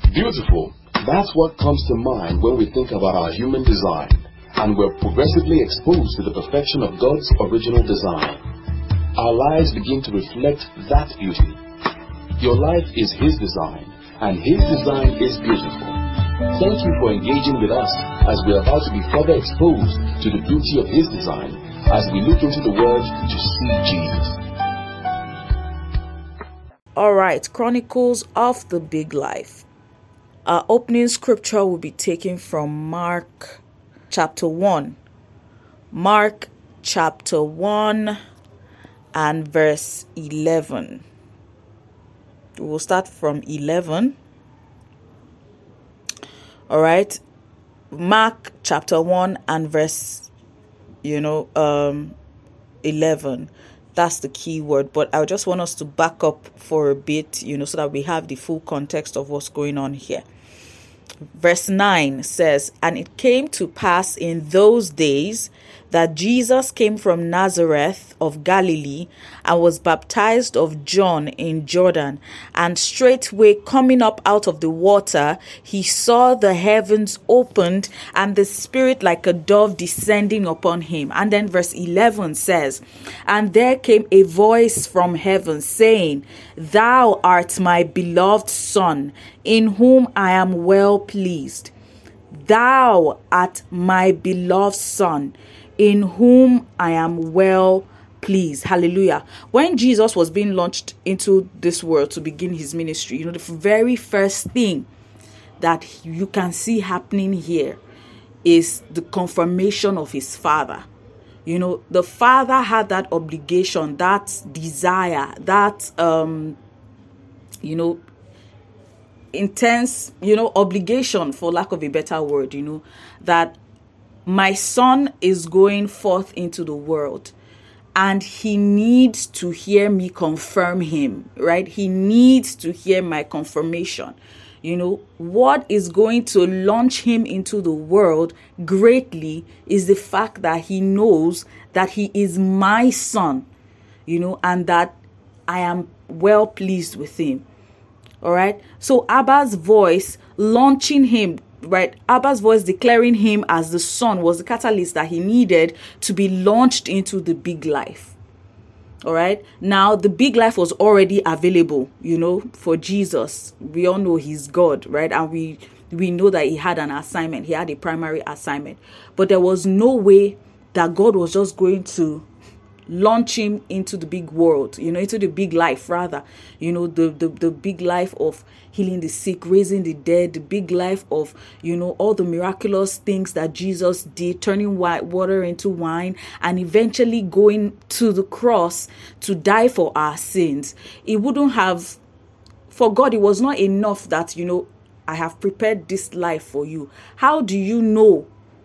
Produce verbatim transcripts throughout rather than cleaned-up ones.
Beautiful. That's what comes to mind when we think about our human design, and we're progressively exposed to the perfection of God's original design. Our lives begin to reflect that beauty. Your life is His design, and His design is beautiful. Thank you for engaging with us as we are about to be further exposed to the beauty of His design as we look into the Word to see Jesus. Alright, Chronicles of the Big Life. Our opening scripture will be taken from Mark chapter one. Mark chapter one and verse eleven. We will start from eleven. All right. Mark chapter one and verse, you know, um, eleven. That's the key word. But I just want us to back up for a bit, you know, so that we have the full context of what's going on here. Verse nine says, "And it came to pass in those days that Jesus came from Nazareth of Galilee and was baptized of John in Jordan. And straightway coming up out of the water, he saw the heavens opened and the Spirit like a dove descending upon him." And then verse eleven says, "And there came a voice from heaven saying, Thou art my beloved Son, in whom I am well pleased. Thou art my beloved Son, in whom I am well pleased." Hallelujah. When Jesus was being launched into this world to begin his ministry, you know, the very first thing that you can see happening here is the confirmation of his Father. You know, the Father had that obligation, that desire, that, um, you know, intense, you know, obligation, for lack of a better word, you know, that my son is going forth into the world and he needs to hear me confirm him, right? He needs to hear my confirmation. You know, what is going to launch him into the world greatly is the fact that he knows that he is my son, you know, and that I am well pleased with him. All right. So Abba's voice launching him, right? Abba's voice declaring him as the son was the catalyst that he needed to be launched into the big life. All right. Now, the big life was already available, you know, for Jesus. We all know he's God, right? And we we know that he had an assignment. He had a primary assignment. But there was no way that God was just going to launch him into the big world, you know, into the big life, rather, you know, the, the, the big life of healing the sick, raising the dead, the big life of, you know, all the miraculous things that Jesus did, turning white water into wine, and eventually going to the cross to die for our sins. It wouldn't have, for God, it was not enough that, you know, I have prepared this life for you. How do you know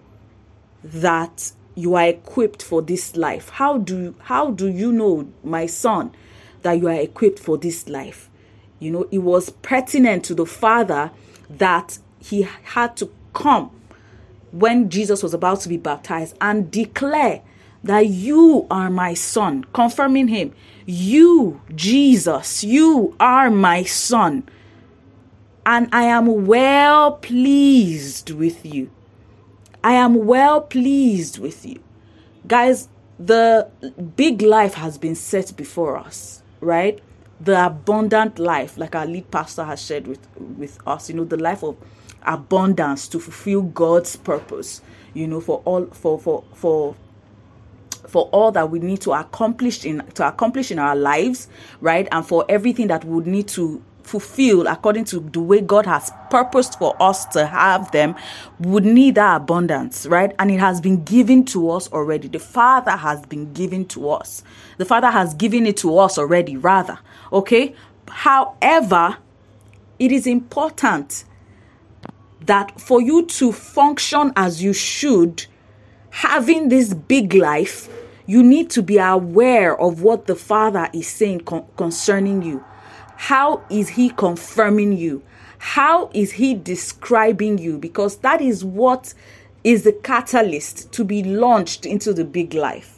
that you are equipped for this life? How do how do you know, my son, that you are equipped for this life? You know, it was pertinent to the Father that he had to come when Jesus was about to be baptized and declare that you are my son, confirming him. You, Jesus, you are my son, and I am well pleased with you. I am well pleased with you. Guys, the big life has been set before us, right? The abundant life, like our lead pastor has shared with, with us, you know, the life of abundance to fulfill God's purpose, you know, for all, for, for, for, for all that we need to accomplish in, to accomplish in our lives, right? And for everything that we would need to fulfilled according to the way God has purposed for us to have them, would need that abundance, right? And it has been given to us already. The Father has been given to us. The Father has given it to us already, rather. Okay? However, it is important that for you to function as you should, having this big life, you need to be aware of what the Father is saying con- concerning you. How is he confirming you? How is he describing you? Because that is what is the catalyst to be launched into the big life.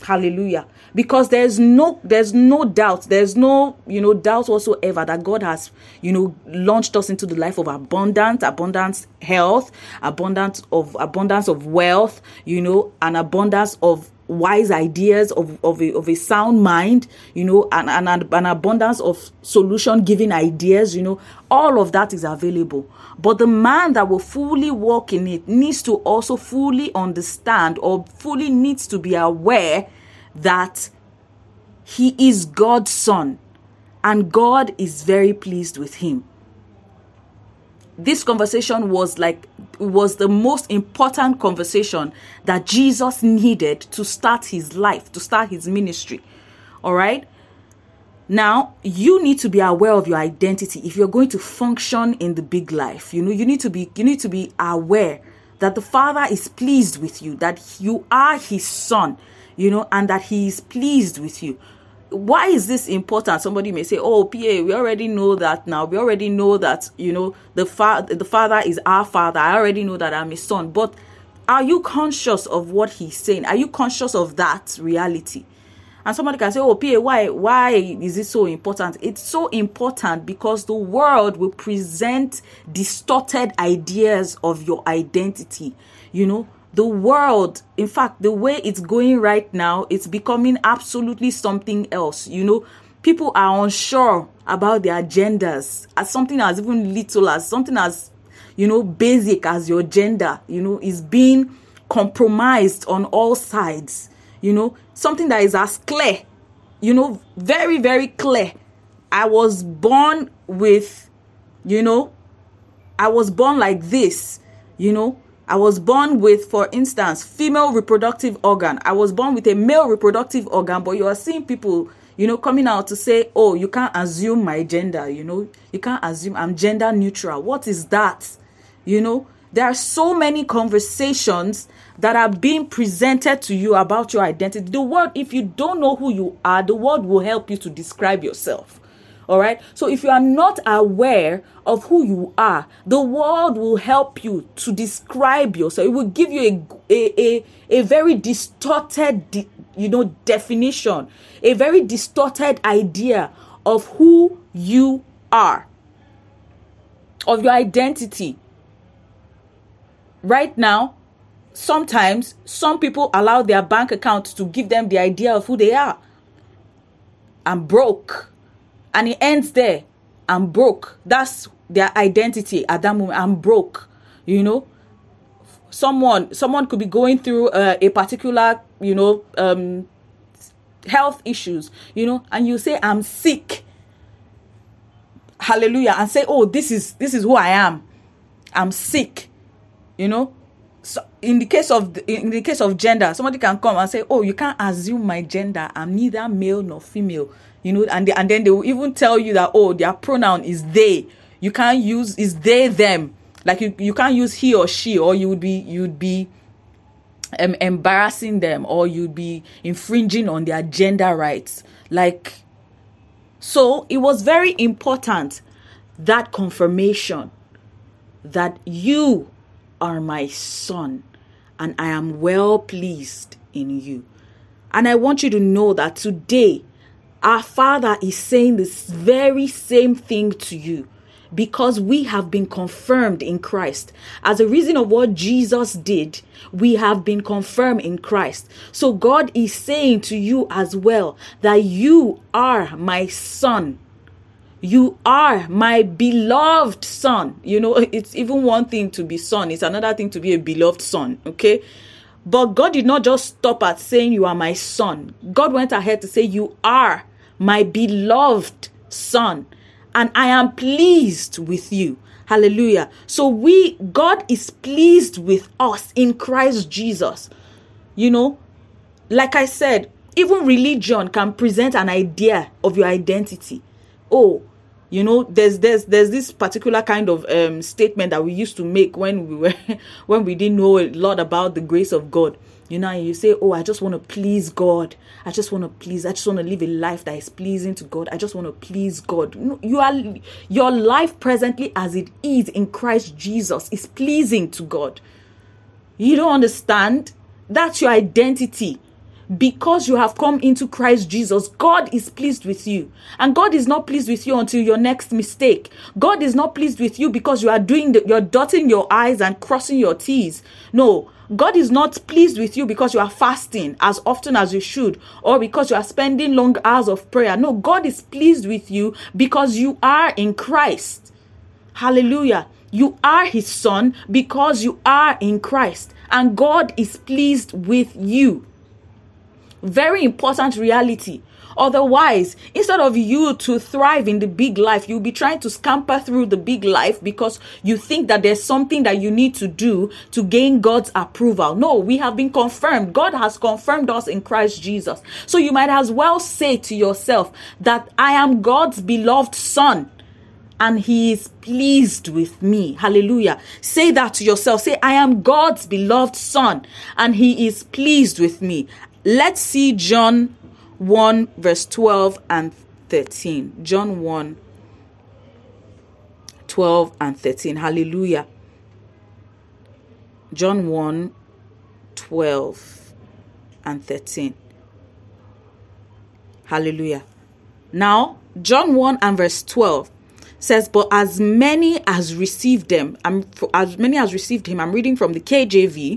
Hallelujah. Because there's no there's no doubt, there's no, you know, doubt whatsoever that God has, you know, launched us into the life of abundance, abundance health, abundance of abundance of wealth, you know, an abundance of wise ideas, of, of, a, of a sound mind, you know, and, and an abundance of solution giving ideas, you know, all of that is available. But the man that will fully walk in it needs to also fully understand, or fully needs to be aware that he is God's son and God is very pleased with him. This conversation was like, was the most important conversation that Jesus needed to start his life, to start his ministry. All right. Now, you need to be aware of your identity if you're going to function in the big life. You know, you need to be, you need to be aware that the Father is pleased with you, that you are his son, you know, and that he is pleased with you. Why is this important? Somebody may say, oh, P A, we already know that now. We already know that, you know, the, fa- the Father is our Father. I already know that I'm his son. But are you conscious of what he's saying? Are you conscious of that reality? And somebody can say, oh, P A, why, why is it so important? It's so important because the world will present distorted ideas of your identity. You know, the world, in fact, the way it's going right now, it's becoming absolutely something else. You know, people are unsure about their genders, as something as even little as something as, you know, basic as your gender, you know, is being compromised on all sides. You know, something that is as clear, you know, very, very clear. I was born with, you know, I was born like this, you know, I was born with, for instance, female reproductive organ. I was born with a male reproductive organ, but you are seeing people, you know, coming out to say, oh, you can't assume my gender, you know, you can't assume I'm gender neutral. What is that? You know, there are so many conversations that are being presented to you about your identity. The world, if you don't know who you are, the world will help you to describe yourself. All right. So if you are not aware of who you are, the world will help you to describe yourself. It will give you a, a, a, a very distorted, de, you know, definition, a very distorted idea of who you are, of your identity. Right now, sometimes some people allow their bank account to give them the idea of who they are. I'm broke. And it ends there. I'm broke. That's their identity at that moment. I'm broke. You know, someone, someone could be going through uh, a particular, you know, um, health issues, you know, and you say, I'm sick. Hallelujah. And say, oh, this is, this is who I am. I'm sick. You know, so in the case of, in the case of gender, somebody can come and say, oh, you can't assume my gender. I'm neither male nor female. You know, and they, and then they will even tell you that, oh, their pronoun is they. You can't use is they, them. Like you, you can't use he or she, or you would be you'd be um, embarrassing them, or you'd be infringing on their gender rights. Like, so it was very important, that confirmation that you are my son and I am well pleased in you. And I want you to know that today, our Father is saying this very same thing to you, because we have been confirmed in Christ. As a reason of what Jesus did, we have been confirmed in Christ. So God is saying to you as well that you are my son. You are my beloved son. You know, it's even one thing to be son. It's another thing to be a beloved son. Okay. But God did not just stop at saying you are my son. God went ahead to say you are my beloved son, and I am pleased with you. Hallelujah. So we, God is pleased with us in Christ Jesus. You know, like I said, even religion can present an idea of your identity. Oh, you know, there's there's there's this particular kind of um statement that we used to make when we were when we didn't know a lot about the grace of God. You know, and you say, oh, I just want to please God. I just want to please. I just want to live a life that is pleasing to God. I just want to please God. You are, your life presently as it is in Christ Jesus is pleasing to God. You don't understand? That's your identity. because you have come into Christ Jesus, God is pleased with you. And God is not pleased with you until your next mistake. God is not pleased with you because you are doing the, you're dotting your I's and crossing your T's. No, God is not pleased with you because you are fasting as often as you should, or because you are spending long hours of prayer. No, God is pleased with you because you are in Christ. Hallelujah. You are his son because you are in Christ, and God is pleased with you. Very important reality. Otherwise, instead of you to thrive in the big life, you'll be trying to scamper through the big life because you think that there's something that you need to do to gain God's approval. No, we have been confirmed. God has confirmed us in Christ Jesus. So you might as well say to yourself that I am God's beloved son, and he is pleased with me. Hallelujah. Say that to yourself. Say, I am God's beloved son, and he is pleased with me. Let's see John one verse twelve and thirteen. John one, twelve and thirteen. Hallelujah. John one, twelve and thirteen. Hallelujah. Now, John one and verse twelve says, but as many as received them, I'm, as many as received him, I'm reading from the K J V.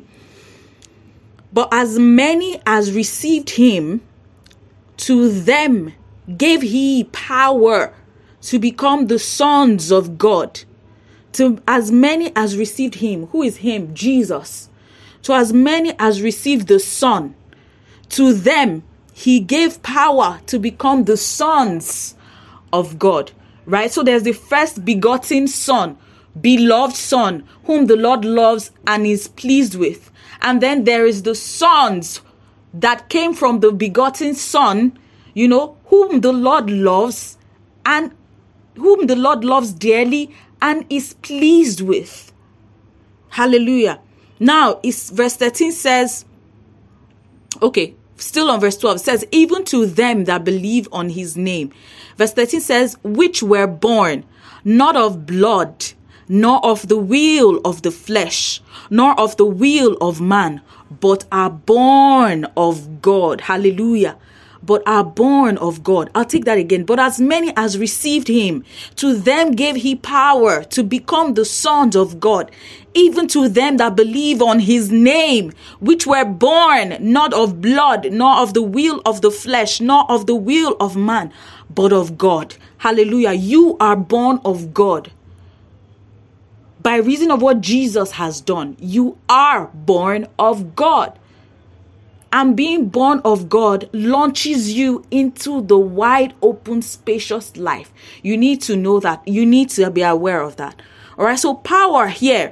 But as many as received him, to them gave he power to become the sons of God. To as many as received him, who is him? Jesus. To as many as received the Son, to them he gave power to become the sons of God. Right? So there's the first begotten son, beloved son, whom the Lord loves and is pleased with. And then there is the sons that came from the begotten son, you know, whom the Lord loves and whom the Lord loves dearly and is pleased with. Hallelujah. Now, it's, verse thirteen says, okay, still on verse twelve, it says, even to them that believe on his name. Verse thirteen says, which were born not of blood, nor of the will of the flesh, nor of the will of man, but are born of God. Hallelujah. But are born of God. I'll take that again. But as many as received him, to them gave he power to become the sons of God, even to them that believe on his name, which were born not of blood, nor of the will of the flesh, nor of the will of man, but of God. Hallelujah. You are born of God. By reason of what Jesus has done, you are born of God. And being born of God launches you into the wide open, spacious life. You need to know that. You need to be aware of that. All right. So power here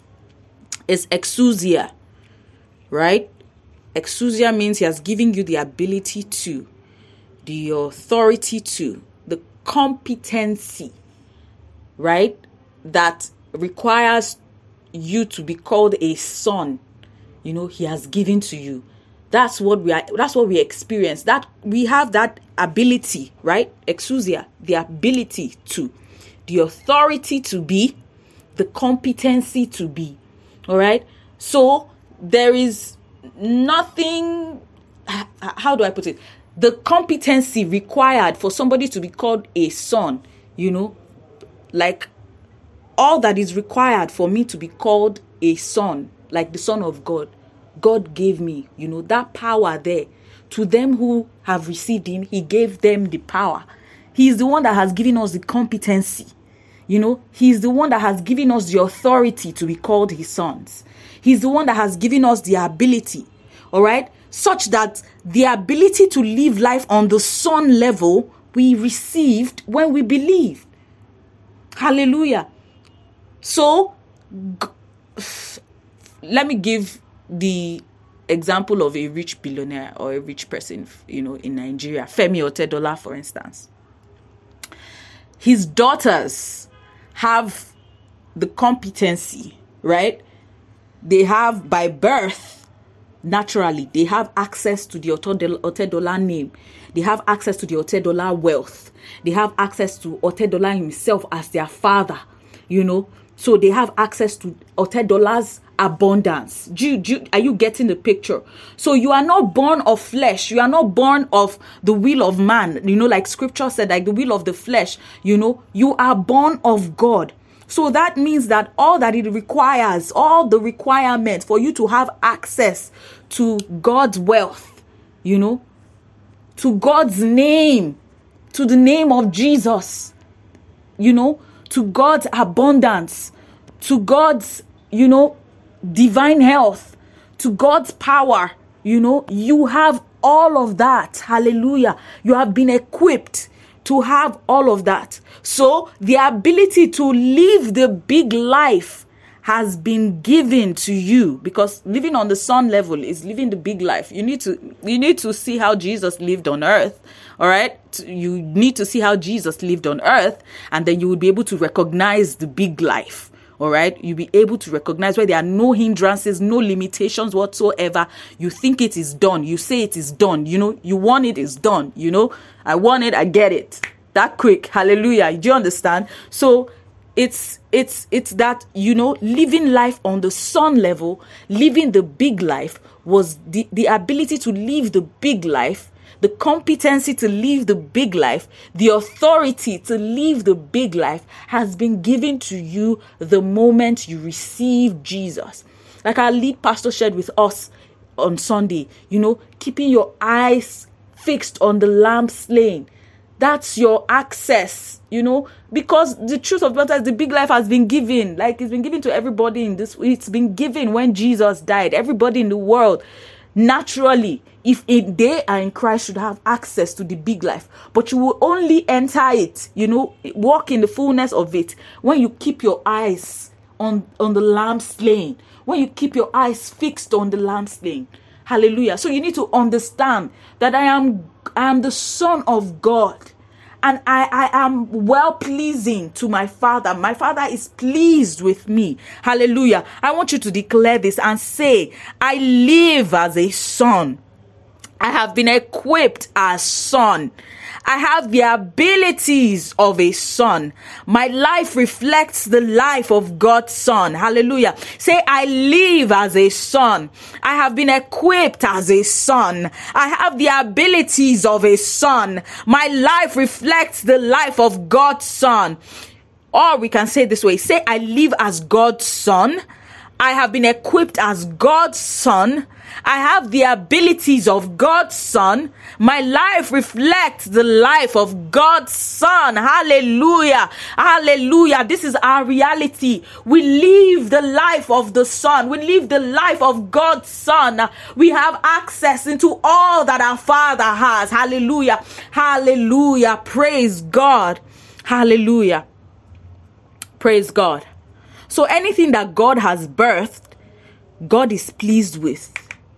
is exousia, right? Exousia means he has given you the ability to, the authority to, the competency, right? That requires you to be called a son. You know, he has given to you. That's what we are, that's what we experience. That we have that ability, right? Exousia, the ability to, the authority to be, the competency to be. All right. So there is nothing, how do I put it? The competency required for somebody to be called a son, you know, like all that is required for me to be called a son, like the Son of God, God gave me, you know, that power there. To them who have received him, he gave them the power. He is the one that has given us the competency. You know, he's the one that has given us the authority to be called his sons. He's the one that has given us the ability, all right, such that the ability to live life on the son level we received when we believed. Hallelujah. So, g- let me give the example of a rich billionaire or a rich person, you know, in Nigeria, Femi Otedola, for instance. His daughters have the competency, right? They have, by birth, naturally, they have access to the Otedola name. They have access to the Otedola wealth. They have access to Otedola himself as their father, you know. So they have access to Otedola's abundance. Do you, do you, are you getting the picture? So you are not born of flesh. You are not born of the will of man. You know, like scripture said, like the will of the flesh, you know, you are born of God. So that means that all that it requires, all the requirements for you to have access to God's wealth, you know, to God's name, to the name of Jesus, you know, to God's abundance, to God's, you know, divine health, to God's power, you know, you have all of that. Hallelujah. You have been equipped to have all of that. So the ability to live the big life has been given to you, because living on the sun level is living the big life. You need to, you need to see how Jesus lived on earth. All right. You need to see how Jesus lived on earth, and then you will be able to recognize the big life. All right. You'll be able to recognize where there are no hindrances, no limitations whatsoever. You think it is done. You say it is done. You know, you want it, is done. You know, I want it, I get it. That quick. Hallelujah. Do you understand? So it's, it's, it's that, you know, living life on the sun level, living the big life was the, the ability to live the big life, the competency to live the big life, the authority to live the big life has been given to you the moment you receive Jesus. Like our lead pastor shared with us on Sunday, you know, keeping your eyes fixed on the lamb slain. That's your access, you know, because the truth of the matter is the big life has been given. Like it's been given to everybody in this. It's been given when Jesus died. Everybody in the world, naturally, if it, they are in Christ, should have access to the big life. But you will only enter it, you know, walk in the fullness of it when you keep your eyes on, on the lamb slain. When you keep your eyes fixed on the lamb slain. Hallelujah. So you need to understand that I am I am the Son of God, and I, I am well pleasing to my Father. My Father is pleased with me. Hallelujah. I want you to declare this and say, I live as a son. I have been equipped as son. I have the abilities of a son. My life reflects the life of God's son. Hallelujah. Say, I live as a son. I have been equipped as a son. I have the abilities of a son. My life reflects the life of God's son. Or we can say it this way. Say, I live as God's son. I have been equipped as God's son. I have the abilities of God's son. My life reflects the life of God's son. Hallelujah. Hallelujah. This is our reality. We live the life of the son. We live the life of God's son. We have access into all that our Father has. Hallelujah. Hallelujah. Praise God. Hallelujah. Praise God. So anything that God has birthed, God is pleased with.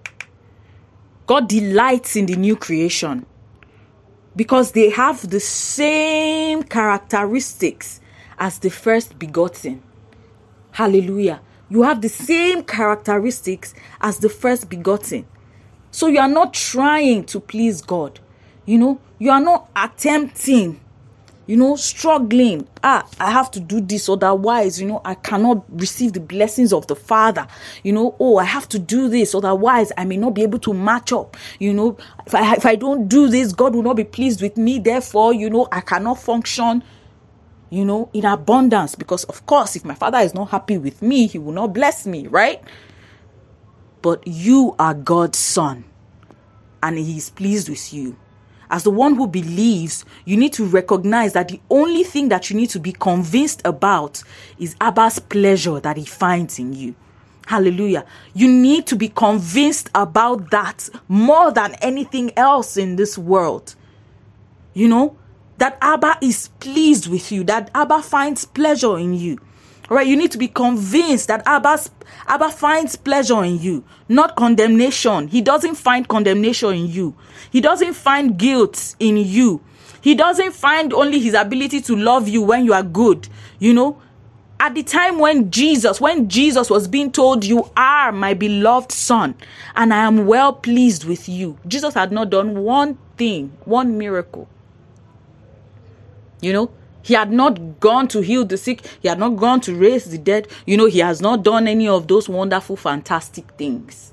God delights in the new creation because they have the same characteristics as the first begotten. Hallelujah. You have the same characteristics as the first begotten. So you are not trying to please God. You know, you are not attempting, you know, struggling. Ah, I have to do this, otherwise, you know, I cannot receive the blessings of the Father. You know, oh, I have to do this, otherwise, I may not be able to match up. You know, if I, if I don't do this, God will not be pleased with me. Therefore, you know, I cannot function, you know, in abundance. Because, of course, if my Father is not happy with me, he will not bless me, right? But you are God's son, and he is pleased with you. As the one who believes, you need to recognize that the only thing that you need to be convinced about is Abba's pleasure that he finds in you. Hallelujah. You need to be convinced about that more than anything else in this world. You know, that Abba is pleased with you, that Abba finds pleasure in you. All right, you need to be convinced that Abba's, Abba finds pleasure in you, not condemnation. He doesn't find condemnation in you. He doesn't find guilt in you. He doesn't find only his ability to love you when you are good. You know, at the time when Jesus, when Jesus was being told, you are my beloved son, and I am well pleased with you, Jesus had not done one thing, one miracle. You know, He had not gone to heal the sick. He had not gone to raise the dead. You know, he has not done any of those wonderful, fantastic things.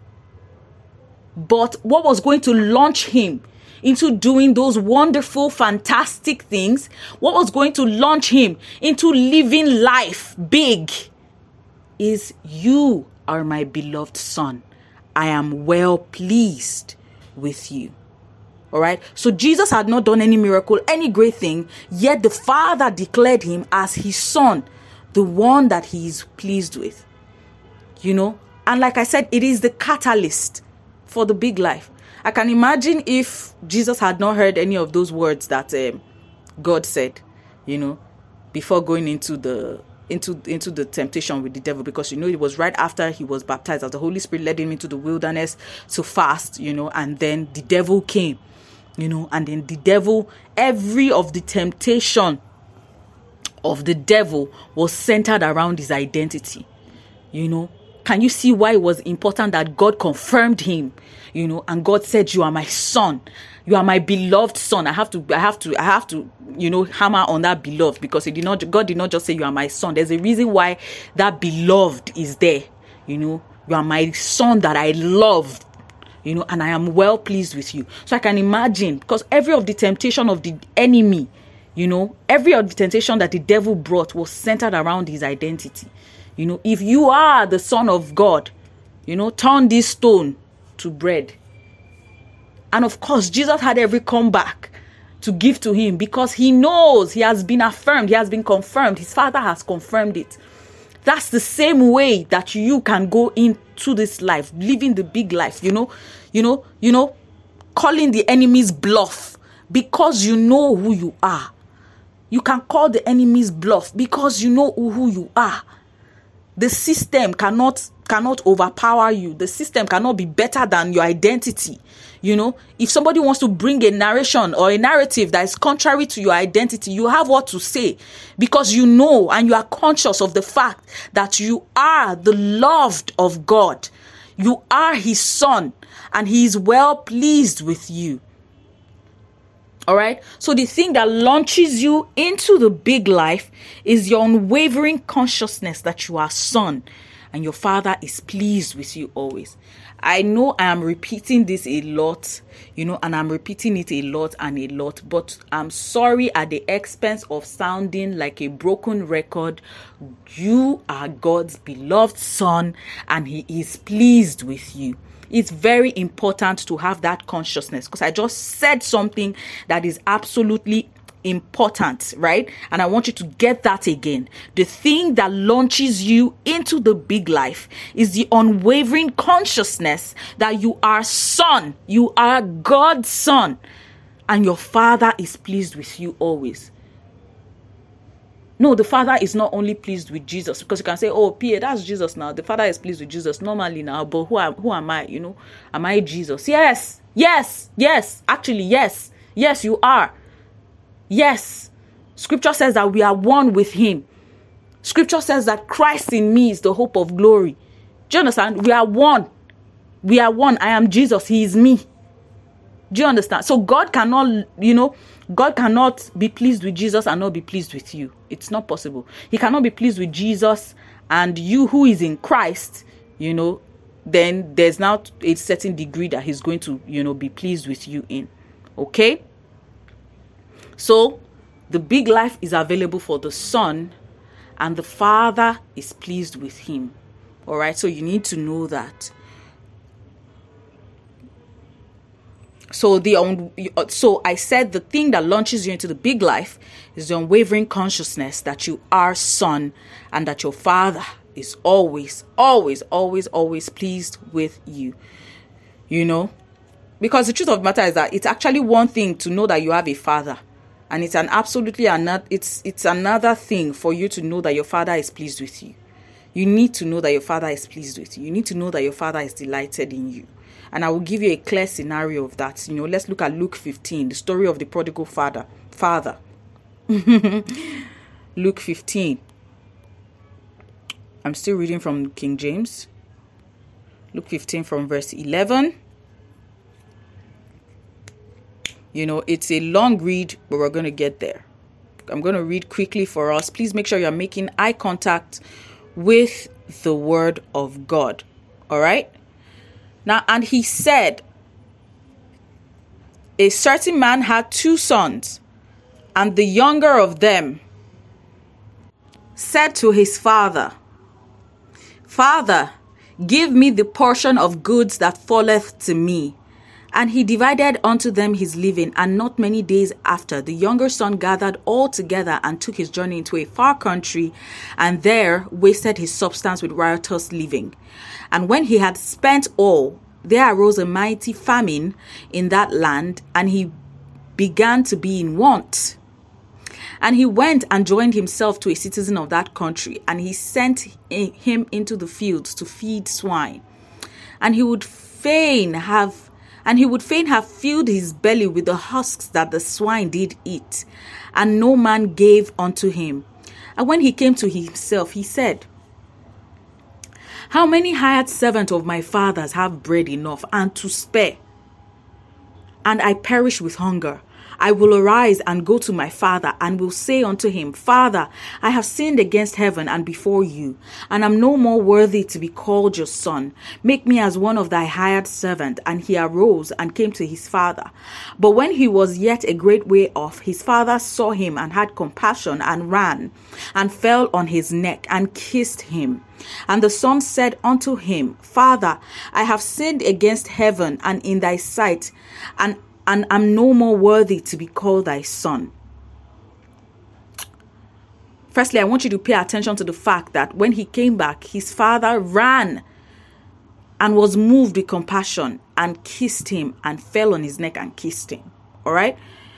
But what was going to launch him into doing those wonderful, fantastic things, what was going to launch him into living life big, is you are my beloved son. I am well pleased with you. All right. So Jesus had not done any miracle, any great thing, yet the Father declared him as his son, the one that he is pleased with. You know, and like I said, it is the catalyst for the big life. I can imagine if Jesus had not heard any of those words that um, God said, you know, before going into the into into the temptation with the devil, because, you know, it was right after he was baptized, as the Holy Spirit led him into the wilderness to fast, you know, and then the devil came, you know, and then the devil, every of the temptation of the devil was centered around his identity, you know. Can you see why it was important that God confirmed him, you know, and God said, you are my son, you are my beloved son. I have to, I have to, I have to, you know, hammer on that beloved, because it did not, God did not just say you are my son. There's a reason why that beloved is there, you know. You are my son that I love, you know, and I am well pleased with you. So I can imagine, because every of the temptation of the enemy, you know, every of the temptation that the devil brought was centered around his identity. You know, if you are the Son of God, you know, turn this stone to bread. And of course, Jesus had every comeback to give to him, because he knows he has been affirmed, he has been confirmed, his Father has confirmed it. That's the same way that you can go into this life, living the big life, you know, you know, you know, calling the enemy's bluff, because you know who you are. You can call the enemy's bluff because you know who you are. The system cannot cannot overpower you. The system cannot be better than your identity. You know, if somebody wants to bring a narration or a narrative that is contrary to your identity, you have what to say, because you know and you are conscious of the fact that you are the loved of God. You are his son, and he is well pleased with you. All right. So the thing that launches you into the big life is your unwavering consciousness that you are son and your Father is pleased with you always. I know I am repeating this a lot, you know, and I'm repeating it a lot and a lot, but I'm sorry at the expense of sounding like a broken record. You are God's beloved son, and he is pleased with you. It's very important to have that consciousness, because I just said something that is absolutely important, right? And I want you to get that again. The thing that launches you into the big life is the unwavering consciousness that you are son, you are God's son, and your Father is pleased with you always. No, the Father is not only pleased with Jesus, because you can say, oh, P A, that's Jesus now. The Father is pleased with Jesus normally now, but who am, who am I? You know, am I Jesus? Yes, yes, yes, actually, yes, yes, you are. Yes, Scripture says that we are one with him. Scripture says that Christ in me is the hope of glory. Do you understand? We are one. We are one. I am Jesus. He is me. Do you understand? So God cannot, you know, God cannot be pleased with Jesus and not be pleased with you. It's not possible. He cannot be pleased with Jesus and you who is in Christ, you know, then there's now a certain degree that he's going to, you know, be pleased with you in. Okay? So the big life is available for the Son, and the Father is pleased with him. All right? So you need to know that. So the un- so I said the thing that launches you into the big life is the unwavering consciousness that you are son, and that your Father is always, always, always, always pleased with you. You know, because the truth of the matter is that it's actually one thing to know that you have a Father, and it's an absolutely another. It's it's another thing for you to know that your Father is pleased with you. You need to know that your Father is pleased with you. You need to know that your Father is delighted in you. And I will give you a clear scenario of that. You know, let's look at Luke fifteen, the story of the prodigal father. Father. Luke fifteen. I'm still reading from King James. Luke fifteen from verse eleven. You know, it's a long read, but we're going to get there. I'm going to read quickly for us. Please make sure you're making eye contact with the word of God. All right. Now, and he said, a certain man had two sons, and the younger of them said to his father, Father, give me the portion of goods that falleth to me. And he divided unto them his living, and not many days after, the younger son gathered all together and took his journey into a far country, and there wasted his substance with riotous living. And when he had spent all, there arose a mighty famine in that land, and he began to be in want. And he went and joined himself to a citizen of that country, and he sent him into the fields to feed swine. And he would fain have And he would fain have filled his belly with the husks that the swine did eat, and no man gave unto him. And when he came to himself, he said, How many hired servants of my father's have bread enough and to spare, and I perish with hunger? I will arise and go to my father, and will say unto him, Father, I have sinned against heaven and before you, and am no more worthy to be called your son. Make me as one of thy hired servants. And he arose and came to his father. But when he was yet a great way off, his father saw him and had compassion, and ran and fell on his neck and kissed him. And the son said unto him, Father, I have sinned against heaven and in thy sight, and and am no more worthy to be called thy son. Firstly, I want you to pay attention to the fact that when he came back, his father ran and was moved with compassion and kissed him and fell on his neck and kissed him. All right.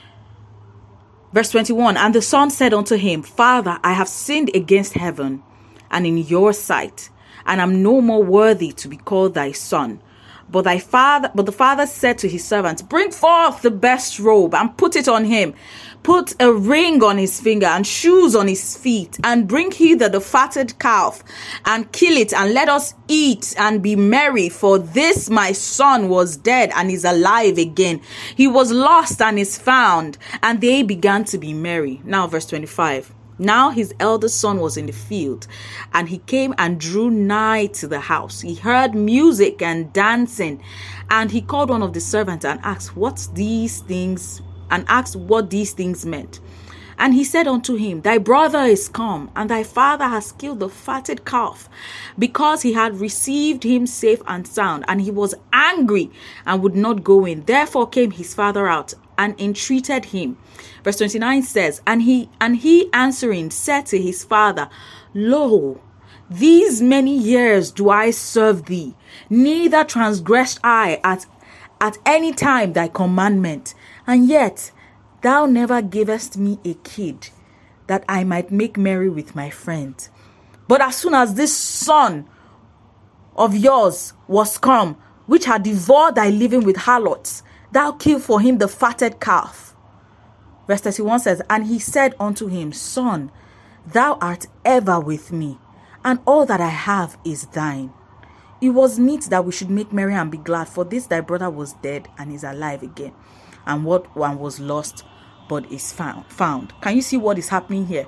Verse twenty-one, and the son said unto him, Father, I have sinned against heaven and in your sight, and am no more worthy to be called thy son. But thy father, but the father said to his servants, Bring forth the best robe and put it on him. Put a ring on his finger and shoes on his feet, and bring hither the fatted calf and kill it, and let us eat and be merry. For this my son was dead and is alive again. He was lost and is found. And they began to be merry. Now verse twenty-five. Now his eldest son was in the field, and he came and drew nigh to the house. He heard music and dancing, and he called one of the servants and asked what these things and asked what these things meant. And he said unto him, Thy brother is come, and thy father has killed the fatted calf, because he had received him safe and sound. And he was angry and would not go in. Therefore came his father out and entreated him. Verse twenty-nine says, And he and he answering said to his father, Lo, these many years do I serve thee, neither transgressed I at at any time thy commandment, and yet thou never gavest me a kid, that I might make merry with my friends. But as soon as this son of yours was come, which had devoured thy living with harlots, thou killed for him the fatted calf. Verse thirty-one says, And he said unto him, Son, thou art ever with me, and all that I have is thine. It was meet that we should make merry and be glad, for this thy brother was dead and is alive again, and what one was lost but is found. Found. Can you see what is happening here?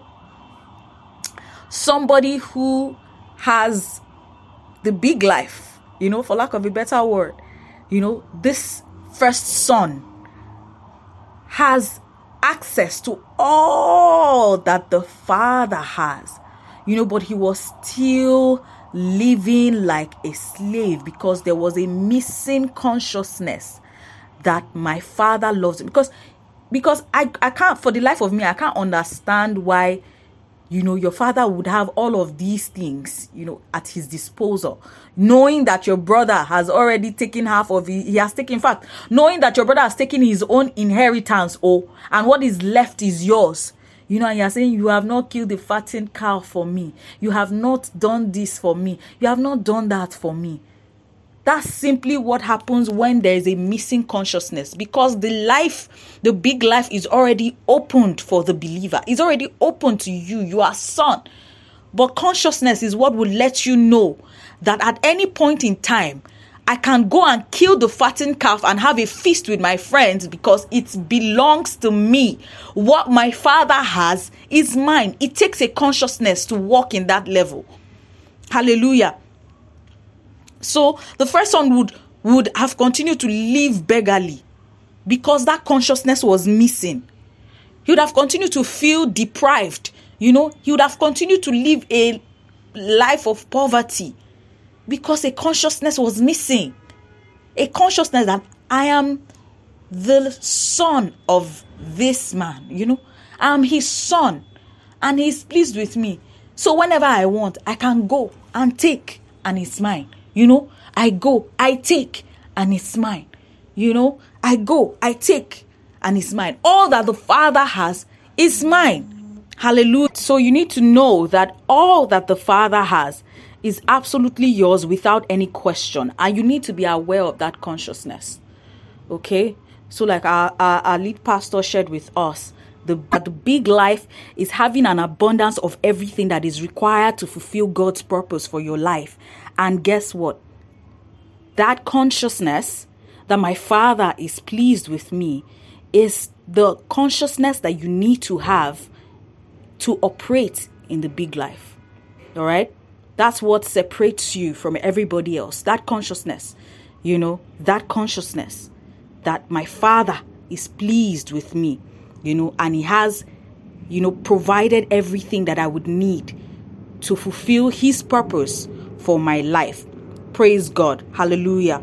Somebody who has the big life, you know, for lack of a better word, you know, this first son has access to all that the father has, you know, but he was still living like a slave because there was a missing consciousness that my father loves him. Because because I, I can't, for the life of me, I can't understand why, you know, your father would have all of these things, you know, at his disposal, knowing that your brother has already taken half of it. He has taken, in fact, knowing that your brother has taken his own inheritance, oh, and what is left is yours. You know, and you're saying, you have not killed the fattened cow for me. You have not done this for me. You have not done that for me. That's simply what happens when there is a missing consciousness, because the life, the big life is already opened for the believer. It's already open to you. You are son. But consciousness is what will let you know that at any point in time, I can go and kill the fattened calf and have a feast with my friends because it belongs to me. What my Father has is mine. It takes a consciousness to walk in that level. Hallelujah. So the first son would, would have continued to live beggarly because that consciousness was missing. He would have continued to feel deprived. You know, he would have continued to live a life of poverty because a consciousness was missing. A consciousness that I am the son of this man, you know. I am his son and he's pleased with me. So whenever I want, I can go and take and it's mine. You know, I go, I take and it's mine. You know, I go, I take and it's mine. All that the Father has is mine. Hallelujah. So you need to know that all that the Father has is absolutely yours without any question. And you need to be aware of that consciousness. Okay? So like our, our, our lead pastor shared with us, the, the big life is having an abundance of everything that is required to fulfill God's purpose for your life. And guess what? That consciousness that my Father is pleased with me is the consciousness that you need to have to operate in the big life. All right? That's what separates you from everybody else. That consciousness, you know, that consciousness that my Father is pleased with me, you know, and he has, you know, provided everything that I would need to fulfill his purpose for my life. Praise God. Hallelujah.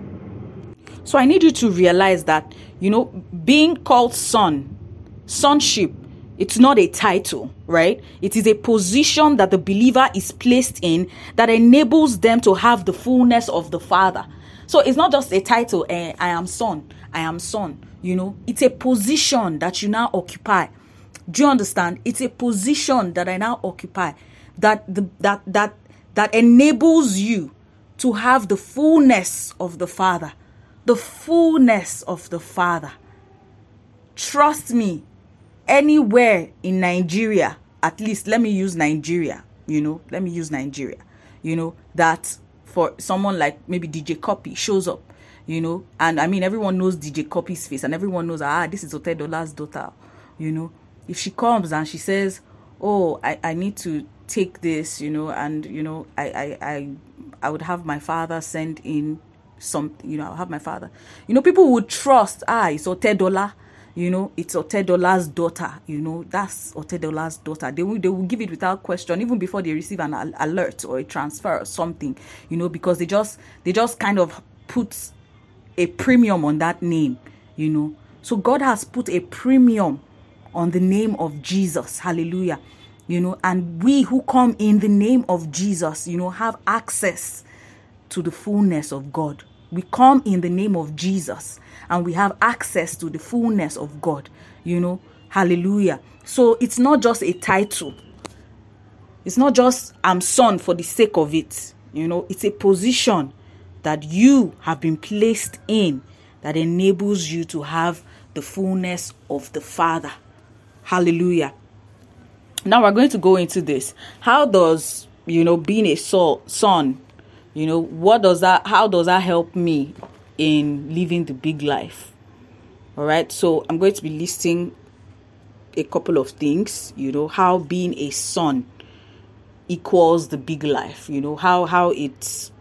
So I need you to realize that, you know, being called son, sonship, it's not a title, right? It is a position that the believer is placed in that enables them to have the fullness of the Father. So it's not just a title, eh, I am son, I am son, you know. It's a position that you now occupy. Do you understand? It's a position that I now occupy that the, that that that enables you to have the fullness of the Father. The fullness of the Father. Trust me. Anywhere in Nigeria, at least let me use Nigeria, you know, let me use Nigeria, you know, that for someone like maybe D J Cuppy shows up, you know, and I mean, everyone knows D J Cuppy's face and everyone knows, ah, this is Otedola's daughter, you know. If she comes and she says, oh, I, I need to take this, you know, and, you know, I, I, I, I would have my father send in some, you know, I'll have my father, you know, people would trust, ah, it's Otedola. You know, it's Otedola's daughter. You know, that's Otedola's daughter. They will, they will give it without question, even before they receive an al- alert or a transfer or something. You know, because they just they just kind of put a premium on that name. You know, so God has put a premium on the name of Jesus. Hallelujah. You know, and we who come in the name of Jesus, you know, have access to the fullness of God. We come in the name of Jesus and we have access to the fullness of God, you know, hallelujah. So it's not just a title. It's not just I'm son for the sake of it. You know, it's a position that you have been placed in that enables you to have the fullness of the Father. Hallelujah. Now we're going to go into this. How does, you know, being a soul, son, you know, what does that, how does that help me in living the big life? All right. So I'm going to be listing a couple of things, you know, how being a son equals the big life, you know, how, how it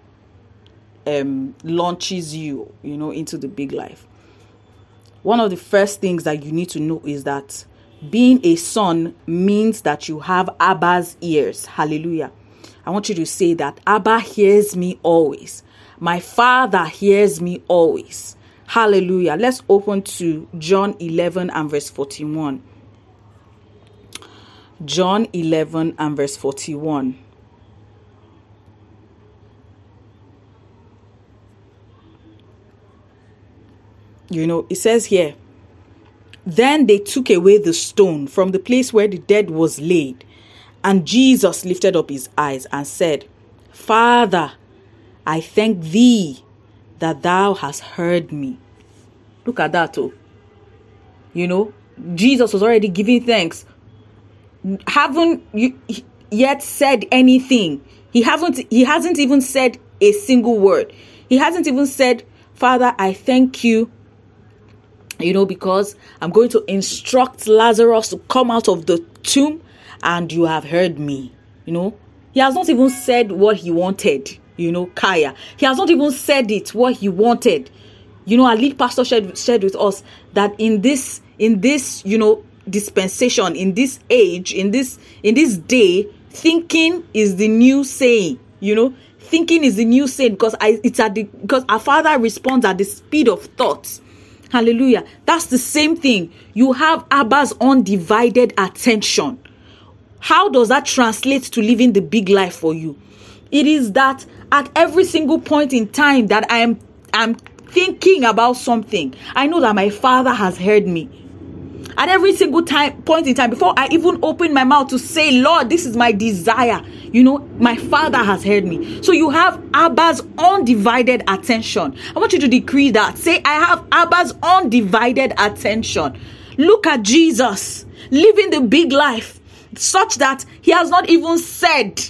um, launches you, you know, into the big life. One of the first things that you need to know is that being a son means that you have Abba's ears. Hallelujah. I want you to say that Abba hears me always. My Father hears me always. Hallelujah. Let's open to John eleven and verse forty-one. John eleven and verse forty-one. You know, it says here, then they took away the stone from the place where the dead was laid. And Jesus lifted up his eyes and said, Father, I thank thee that thou hast heard me. Look at that, oh. You know, Jesus was already giving thanks. Haven't you yet said anything? He haven't, he hasn't even said a single word. He hasn't even said, Father, I thank you, you know, because I'm going to instruct Lazarus to come out of the tomb and you have heard me, you know. He has not even said what he wanted, you know, Kaya. He has not even said it, what he wanted. You know, our lead pastor shared, shared with us that in this, in this, you know, dispensation, in this age, in this, in this day, thinking is the new saying, you know. Thinking is the new saying because I, it's at the, because our Father responds at the speed of thoughts. Hallelujah. That's the same thing. You have Abba's undivided attention. How does that translate to living the big life for you? It is that at every single point in time that I am I'm thinking about something, I know that my Father has heard me. At every single time, point in time, before I even open my mouth to say, Lord, this is my desire, you know, my Father has heard me. So you have Abba's undivided attention. I want you to decree that. Say, I have Abba's undivided attention. Look at Jesus living the big life such that he has not even said,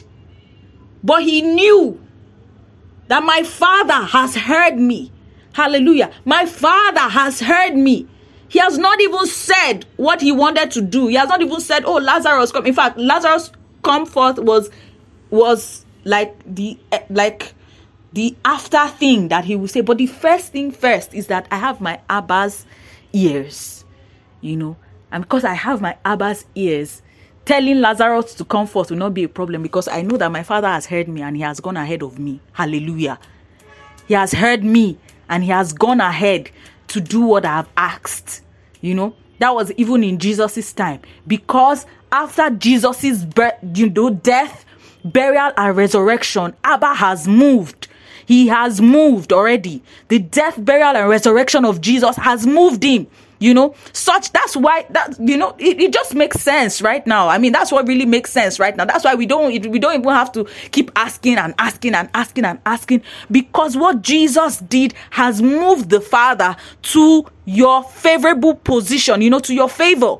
but he knew that my Father has heard me. Hallelujah. My Father has heard me. He has not even said what he wanted to do. He has not even said, oh, Lazarus, come. In fact, Lazarus come forth was, was like the, like the after thing that he would say. But the first thing first is that I have my Abba's ears, you know, and because I have my Abba's ears, telling Lazarus to come forth will not be a problem because I know that my Father has heard me and he has gone ahead of me. Hallelujah. He has heard me and he has gone ahead to do what I have asked. You know, that was even in Jesus's time, because after Jesus's birth, you know, death, burial and resurrection, Abba has moved. He has moved already. The death, burial and resurrection of Jesus has moved him. You know, such, that's why that, you know, it, it just makes sense right now. I mean, that's what really makes sense right now. That's why we don't, we don't even have to keep asking and asking and asking and asking, because what Jesus did has moved the Father to your favorable position, you know, to your favor.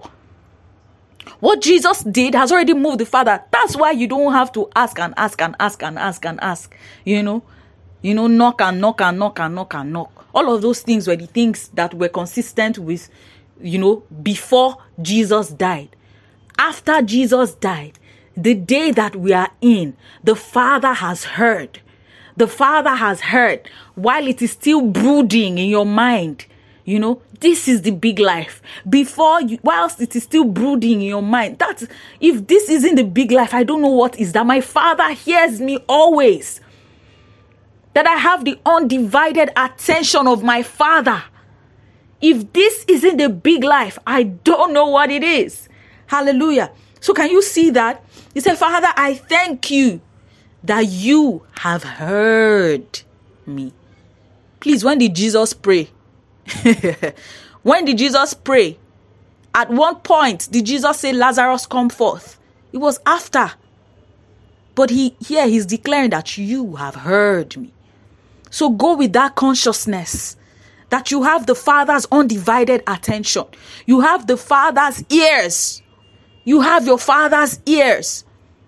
What Jesus did has already moved the Father. That's why you don't have to ask and ask and ask and ask and ask, you know, you know, knock and knock and knock and knock and knock. All of those things were the things that were consistent with, you know, before Jesus died. After Jesus died, the day that we are in, the Father has heard. The Father has heard while it is still brooding in your mind. You know, this is the big life. Before you, whilst it is still brooding in your mind, that's, if this isn't the big life, I don't know what is. That my Father hears me always. That I have the undivided attention of my Father. If this isn't the big life, I don't know what it is. Hallelujah. So can you see that? He said, Father, I thank you that you have heard me. Please, when did Jesus pray? When did Jesus pray? At one point, did Jesus say, Lazarus, come forth? It was after. But he here he's declaring that you have heard me. So go with that consciousness that you have the Father's undivided attention. You have the Father's ears. You have your Father's ears.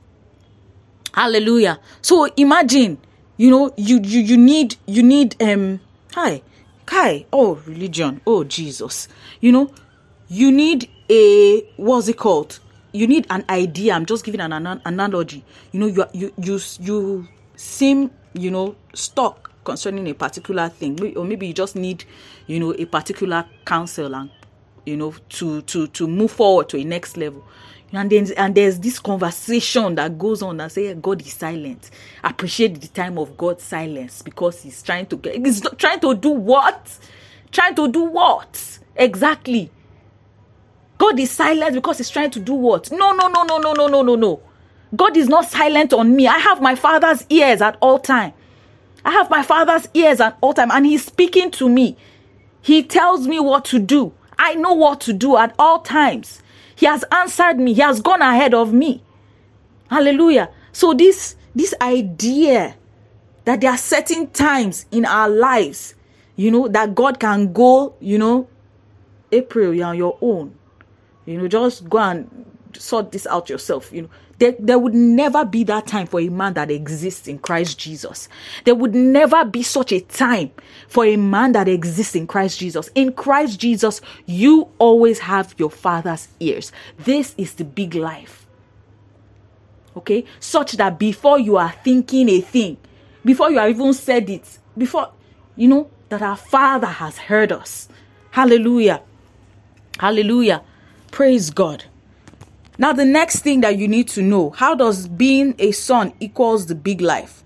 Hallelujah. So imagine, you know, you you you need you need um hi hi oh religion, oh Jesus. You know, you need a what's it called? You need an idea. I'm just giving an, an analogy. You know, you you you you seem, you know, stuck concerning a particular thing, or maybe you just need, you know, a particular counsel and, you know, to to to move forward to a next level. And then and there's this conversation that goes on and say God is silent. Appreciate the time of God's silence because he's trying to get he's trying to do what? Trying to do what? Exactly. God is silent because he's trying to do what? No, no, no, no, no, no, no, no, no. God is not silent on me. I have my Father's ears at all time. I have my Father's ears at all time, and he's speaking to me. He tells me what to do. I know what to do at all times. He has answered me. He has gone ahead of me. Hallelujah. So this, this idea that there are certain times in our lives, you know, that God can go, you know, April, you're on your own. You know, just go and sort this out yourself. You know, There, there would never be that time for a man that exists in Christ Jesus. There would never be such a time for a man that exists in Christ Jesus. In Christ Jesus, you always have your Father's ears. This is the big life. Okay? Such that before you are thinking a thing, before you have even said it, before, you know, that our Father has heard us. Hallelujah. Hallelujah. Praise God. Now, the next thing that you need to know, how does being a son equals the big life?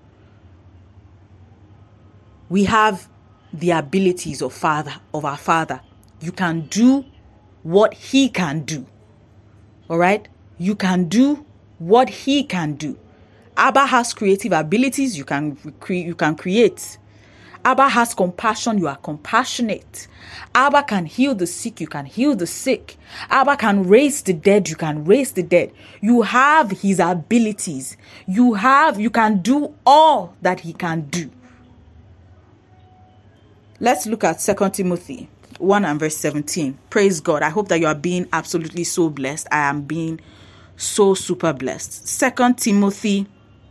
We have the abilities of Father, of our Father. You can do what He can do. All right? You can do what He can do. Abba has creative abilities. You can create. You can create. Abba has compassion, you are compassionate. Abba can heal the sick, you can heal the sick. Abba can raise the dead, you can raise the dead. You have His abilities. You have, you can do all that He can do. Let's look at Second Timothy one and verse seventeen. Praise God. I hope that you are being absolutely so blessed. I am being so super blessed. Second Timothy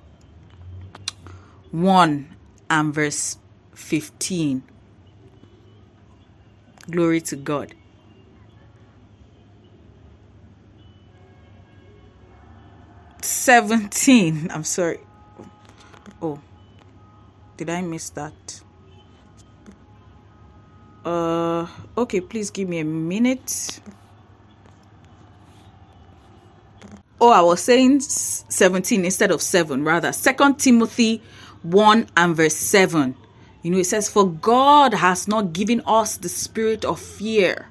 one and verse fifteen. Glory to God. seventeen. I'm sorry. Oh, did I miss that? Uh, okay, please give me a minute. Oh, I was saying seventeen instead of seven, rather. Second Timothy one and verse seven. You know, it says, for God has not given us the spirit of fear,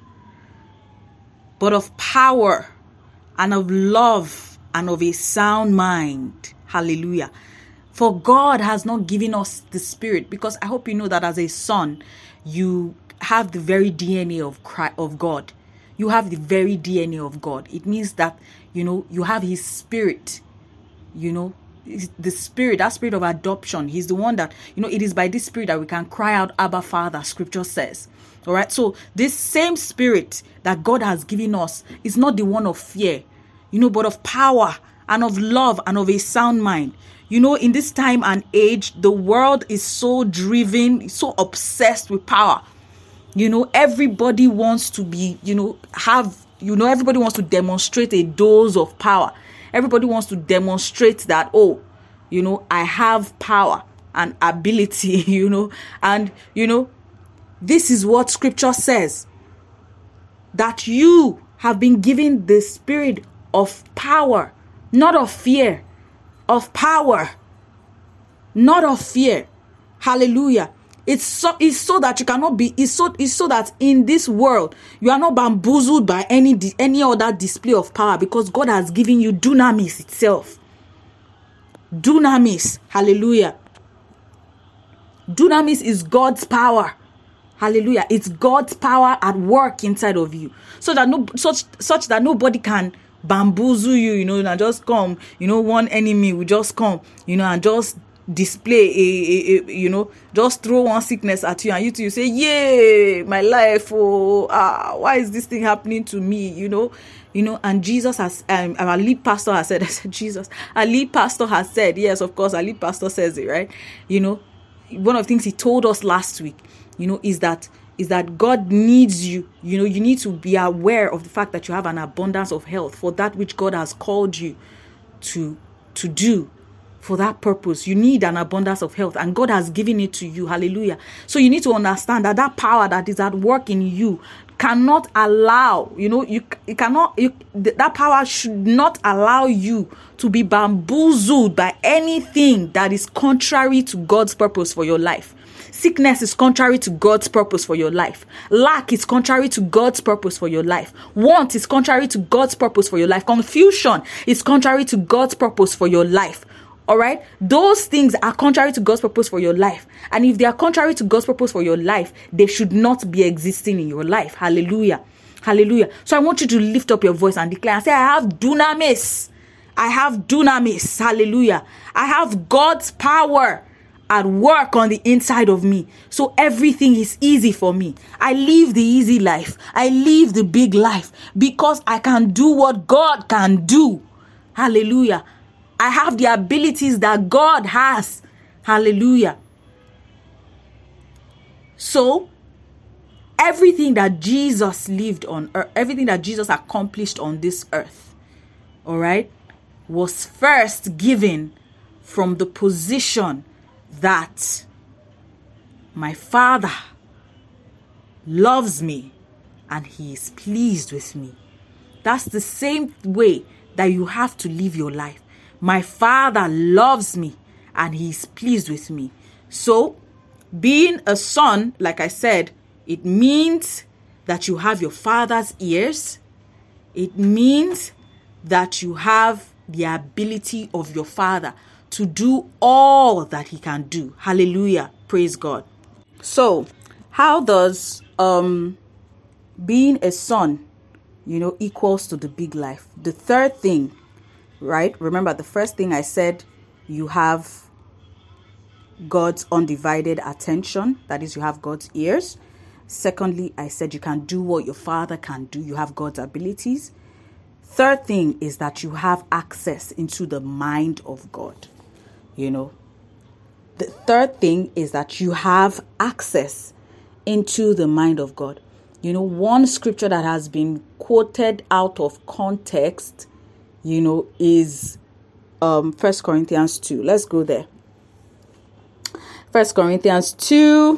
but of power and of love and of a sound mind. Hallelujah. For God has not given us the spirit, because I hope you know that as a son, you have the very D N A of Christ, of God. You have the very D N A of God. It means that, you know, you have His spirit, you know, the spirit, that spirit of adoption. He's the one that, you know, it is by this spirit that we can cry out, Abba, Father, scripture says. All right. So this same spirit that God has given us is not the one of fear, you know, but of power and of love and of a sound mind. You know, in this time and age, the world is so driven, so obsessed with power. You know, everybody wants to be, you know, have, you know, everybody wants to demonstrate a dose of power. Everybody wants to demonstrate that, oh, you know, I have power and ability, you know, and, you know, this is what scripture says, that you have been given the spirit of power, not of fear, of power, not of fear. Hallelujah. It's so, it's so that you cannot be, it's so, it's so that in this world, you are not bamboozled by any, any other display of power, because God has given you dunamis itself. Dunamis. Hallelujah. Dunamis is God's power. Hallelujah. It's God's power at work inside of you. So that no, such, such that nobody can bamboozle you, you know, and just come, you know, one enemy will just come, you know, and just display a, a, a you know, just throw one sickness at you, and you two you say, yay, my life, oh, ah, why is this thing happening to me, you know, you know, and Jesus has, um, our lead pastor has said, I said, Jesus, our lead pastor has said, yes, of course, our lead pastor says it, right? You know, one of the things he told us last week, you know, is that, is that God needs you, you know, you need to be aware of the fact that you have an abundance of health for that which God has called you to, to do. For that purpose, you need an abundance of health, and God has given it to you. Hallelujah. So you need to understand that that power that is at work in you cannot allow, you know, you, you cannot, you, that power should not allow you to be bamboozled by anything that is contrary to God's purpose for your life. Sickness is contrary to God's purpose for your life. Lack is contrary to God's purpose for your life. Want is contrary to God's purpose for your life. Confusion is contrary to God's purpose for your life. All right. Those things are contrary to God's purpose for your life. And if they are contrary to God's purpose for your life, they should not be existing in your life. Hallelujah. Hallelujah. So I want you to lift up your voice and declare and say, I have dunamis. I have dunamis. Hallelujah. I have God's power at work on the inside of me. So everything is easy for me. I live the easy life. I live the big life because I can do what God can do. Hallelujah. I have the abilities that God has. Hallelujah. So, everything that Jesus lived on earth, everything that Jesus accomplished on this earth, all right, was first given from the position that my Father loves me and he is pleased with me. That's the same way that you have to live your life. My Father loves me and he is pleased with me. So, being a son, like I said, it means that you have your Father's ears. It means that you have the ability of your Father to do all that he can do. Hallelujah. Praise God. So, how does um being a son, you know, equals to the big life? The third thing, right? Remember, the first thing I said, you have God's undivided attention. That is, you have God's ears. Secondly, I said you can do what your Father can do. You have God's abilities. Third thing is that you have access into the mind of God. You know, the third thing is that you have access into the mind of God. You know, one scripture that has been quoted out of context, you know, is um First Corinthians two. Let's go there. First Corinthians two,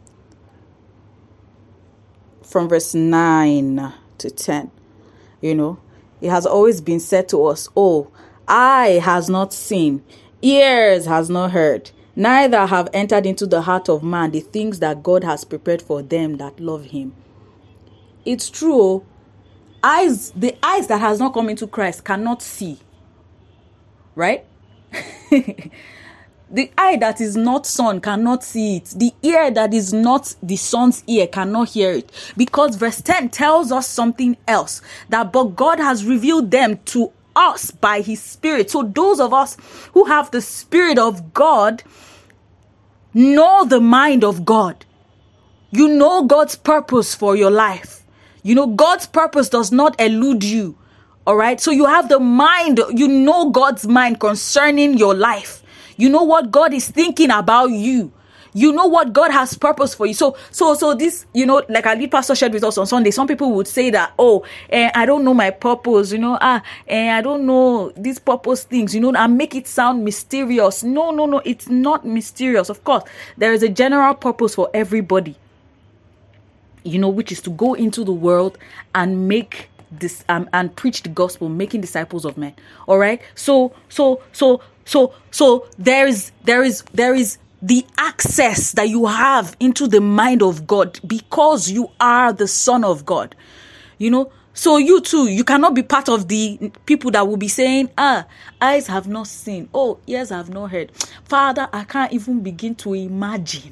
from verse nine to ten. You know, it has always been said to us, oh, eye has not seen, ears has not heard, neither have entered into the heart of man the things that God has prepared for them that love him. It's true. Eyes, the eyes that has not come into Christ cannot see. Right? The eye that is not son cannot see it. The ear that is not the son's ear cannot hear it. Because verse ten tells us something else. That but God has revealed them to us by his Spirit. So those of us who have the Spirit of God know the mind of God. You know God's purpose for your life. You know God's purpose does not elude you. All right. So you have the mind. You know God's mind concerning your life. You know what God is thinking about you. You know what God has purpose for you. So, so, so this, you know, like our lead pastor shared with us on Sunday, some people would say that, oh, eh, I don't know my purpose, you know, ah, eh, I don't know these purpose things, you know, and make it sound mysterious. No, no, no, it's not mysterious. Of course, there is a general purpose for everybody, you know, which is to go into the world and make this, um, and preach the gospel, making disciples of men. All right. So, so, so, so, so there is, there is, there is, the access that you have into the mind of God because you are the Son of God, you know. So you too, you cannot be part of the people that will be saying, ah, eyes have not seen, oh, ears have not heard. Father, I can't even begin to imagine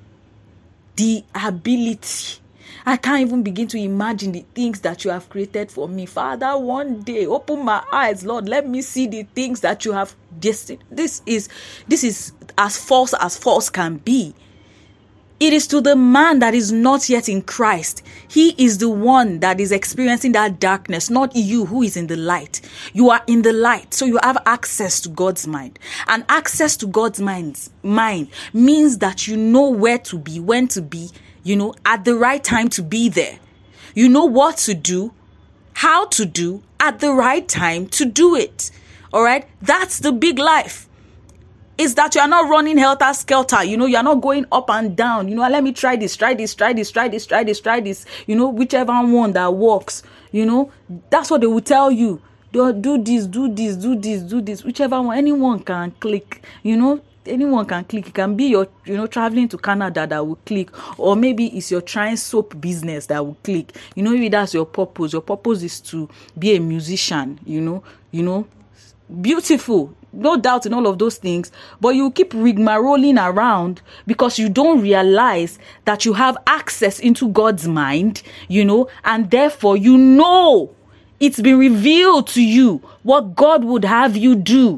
the ability. I can't even begin to imagine the things that you have created for me. Father, one day, open my eyes, Lord. Let me see the things that you have destined. This is, this is as false as false can be. It is to the man that is not yet in Christ. He is the one that is experiencing that darkness, not you who is in the light. You are in the light, so you have access to God's mind. And access to God's mind, mind means that you know where to be, when to be, you know, at the right time to be there. You know what to do, how to do, at the right time to do it. All right? That's the big life. Is that you are not running helter-skelter. You know, you are not going up and down. You know, let me try this, try this, try this, try this, try this, try this. You know, whichever one that works. You know, that's what they will tell you. Do, do this, do this, do this, do this. Whichever one, anyone can click. You know, anyone can click. It can be your, you know, traveling to Canada that will click. Or maybe it's your trying soap business that will click. You know, maybe that's your purpose. Your purpose is to be a musician, you know, you know. Beautiful, no doubt in all of those things, but you keep rigmaroling around because you don't realize that you have access into God's mind, you know, and therefore you know it's been revealed to you what God would have you do.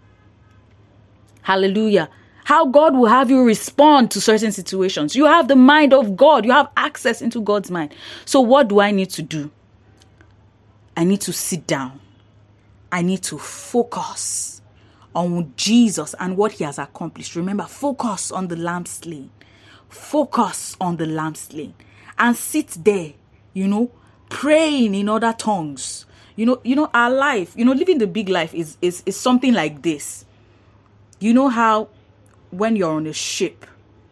Hallelujah. How God will have you respond to certain situations. You have the mind of God. You have access into God's mind. So what do I need to do? I need to sit down. I need to focus on Jesus and what he has accomplished. Remember, focus on the lamb slain. Focus on the lamb slain. And sit there, you know, praying in other tongues. You know, you know, our life, you know, living the big life is, is, is something like this. You know how when you're on a ship,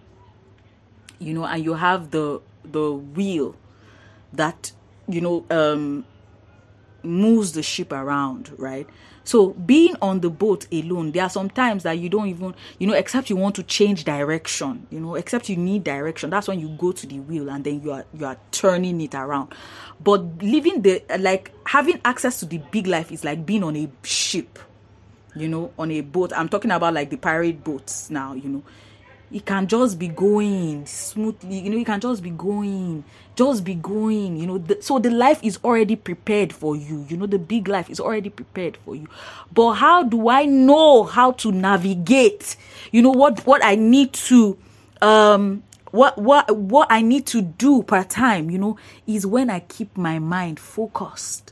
you know, and you have the the wheel that, you know, um, moves the ship around, right? So being on the boat alone, there are some times that you don't even, you know, except you want to change direction, you know, except you need direction. That's when you go to the wheel and then you are you are turning it around. But living the, like having access to the big life is like being on a ship, you know, on a boat. I'm talking about like the pirate boats now, you know. It can just be going smoothly, you know, you can just be going, just be going, you know. The, so the life is already prepared for you, you know, the big life is already prepared for you. But how do I know how to navigate? You know, what, what I need to, um, what, what, what I need to do per time, you know, is when I keep my mind focused,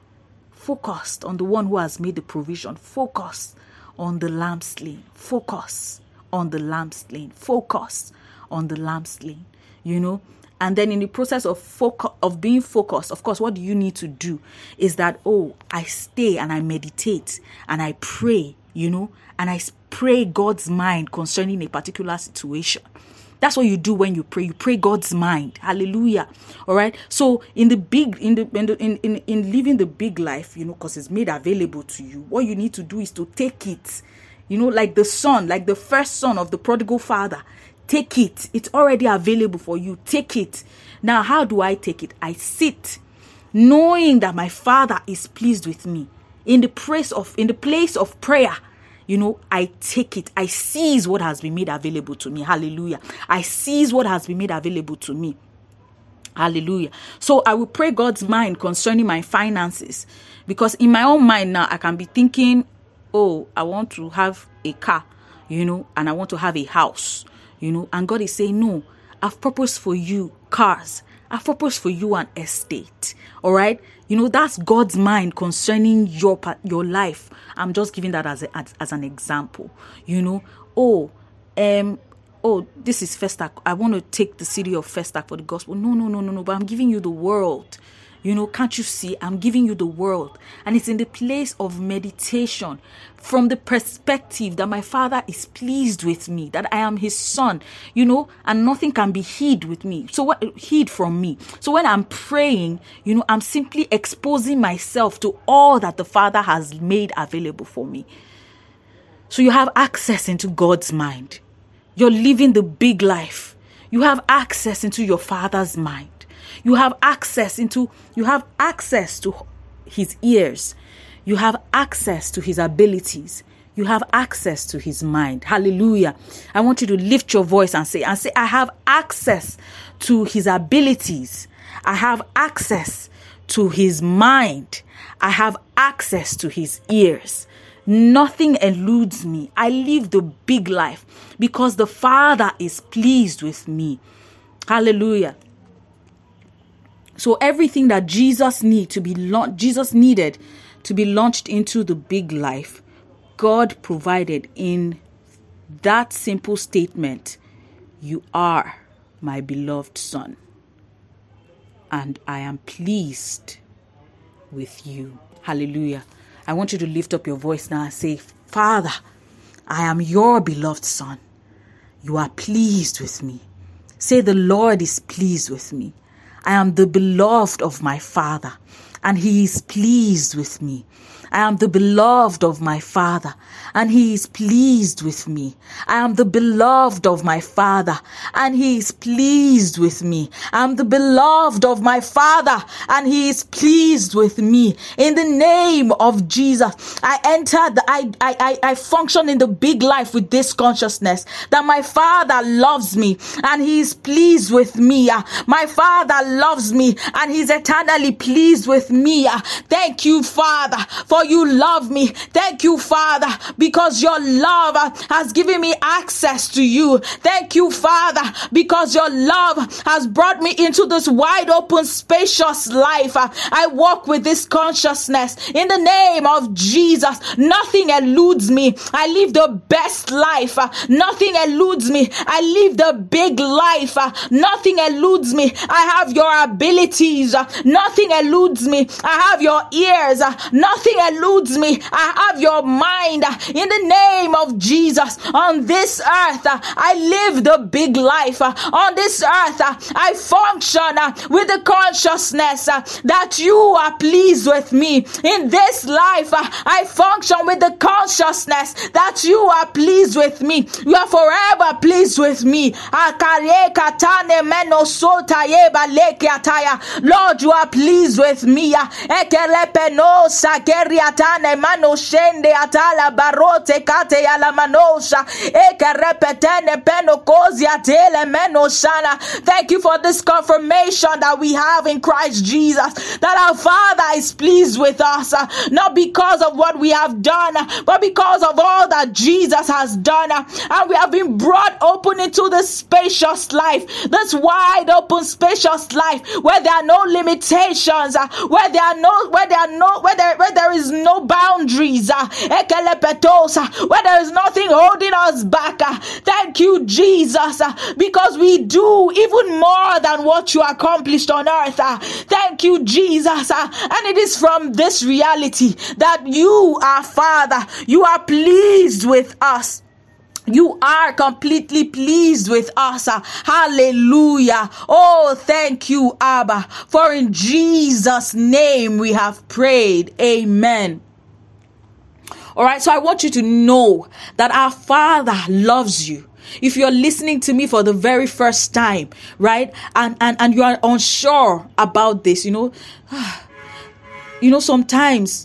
focused on the one who has made the provision, focused on the lamb slain, focus on the lamb slain, focus on the lamb slain, you know. And then in the process of focus, of being focused, of course, what do you need to do is that, oh, I stay and I meditate and I pray, you know, and I pray God's mind concerning a particular situation. That's what you do when you pray. You pray God's mind. Hallelujah. All right. So in the big, in the, in, the, in, in, in living the big life, you know, because it's made available to you, what you need to do is to take it. You know, like the son, like the first son of the prodigal father. Take it. It's already available for you. Take it. Now, how do I take it? I sit, knowing that my Father is pleased with me. In the place of, in the place of prayer, you know, I take it. I seize what has been made available to me. Hallelujah. I seize what has been made available to me. Hallelujah. So I will pray God's mind concerning my finances, because in my own mind now, I can be thinking, oh, I want to have a car, you know, and I want to have a house, you know, and God is saying, no, I've purposed for you cars. I've purposed for you an estate. All right. You know, that's God's mind concerning your, your life. I'm just giving that as, a, as, as an example, you know. Oh, um, oh, this is Festac. I want to take the city of Festac for the gospel. No, no, no, no, no, but I'm giving you the world. You know, can't you see? I'm giving you the world. And it's in the place of meditation, from the perspective that my Father is pleased with me, that I am his son, you know, and nothing can be hid with me. So what hid from me? So when I'm praying, you know, I'm simply exposing myself to all that the Father has made available for me. So you have access into God's mind. You're living the big life. You have access into your Father's mind. You have access into, you have access to his ears. You have access to his abilities. You have access to his mind. Hallelujah. I want you to lift your voice and say, and say, I have access to his abilities. I have access to his mind. I have access to his ears. Nothing eludes me. I live the big life because the Father is pleased with me. Hallelujah. So everything that Jesus need to be la- Jesus needed to be launched into the big life, God provided in that simple statement: you are my beloved son, and I am pleased with you. Hallelujah. I want you to lift up your voice now and say, Father, I am your beloved son. You are pleased with me. Say, the Lord is pleased with me. I am the beloved of my Father, and he is pleased with me. I am the beloved of my Father, and he is pleased with me. I am the beloved of my Father, and he is pleased with me. I am the beloved of my Father, and he is pleased with me. In the name of Jesus, I enter, the, I, I, I, I function in the big life with this consciousness that my Father loves me, and he is pleased with me. My Father loves me, and he's eternally pleased with me. Thank you, Father, for for you love me. Thank you, Father, because your love has given me access to you. Thank you, Father, because your love has brought me into this wide open, spacious life. I walk with this consciousness in the name of Jesus. Nothing eludes me. I live the best life. Nothing eludes me. I live the big life. Nothing eludes me. I have your abilities. Nothing eludes me. I have your ears. Nothing eludes me. I have your mind. In the name of Jesus, on this earth, I live the big life. On this earth, I function with the consciousness that you are pleased with me. In this life, I function with the consciousness that you are pleased with me. You are forever pleased with me. Lord, you are pleased with me. Thank you for this confirmation that we have in Christ Jesus, that our Father is pleased with us, not because of what we have done, but because of all that Jesus has done. And we have been brought open into this spacious life, this wide open spacious life, where there are no limitations, where there are no where there are no where there, where there is no boundaries, where there is nothing holding us back. Thank you, Jesus, because we do even more than what you accomplished on earth. Thank you, Jesus. And it is from this reality that you are Father. You are pleased with us. You are completely pleased with us. Hallelujah. Oh, thank you, Abba. For in Jesus' name we have prayed. Amen. All right, so I want you to know that our Father loves you. If you're listening to me for the very first time, right, and, and, and you are unsure about this, you know, you know, sometimes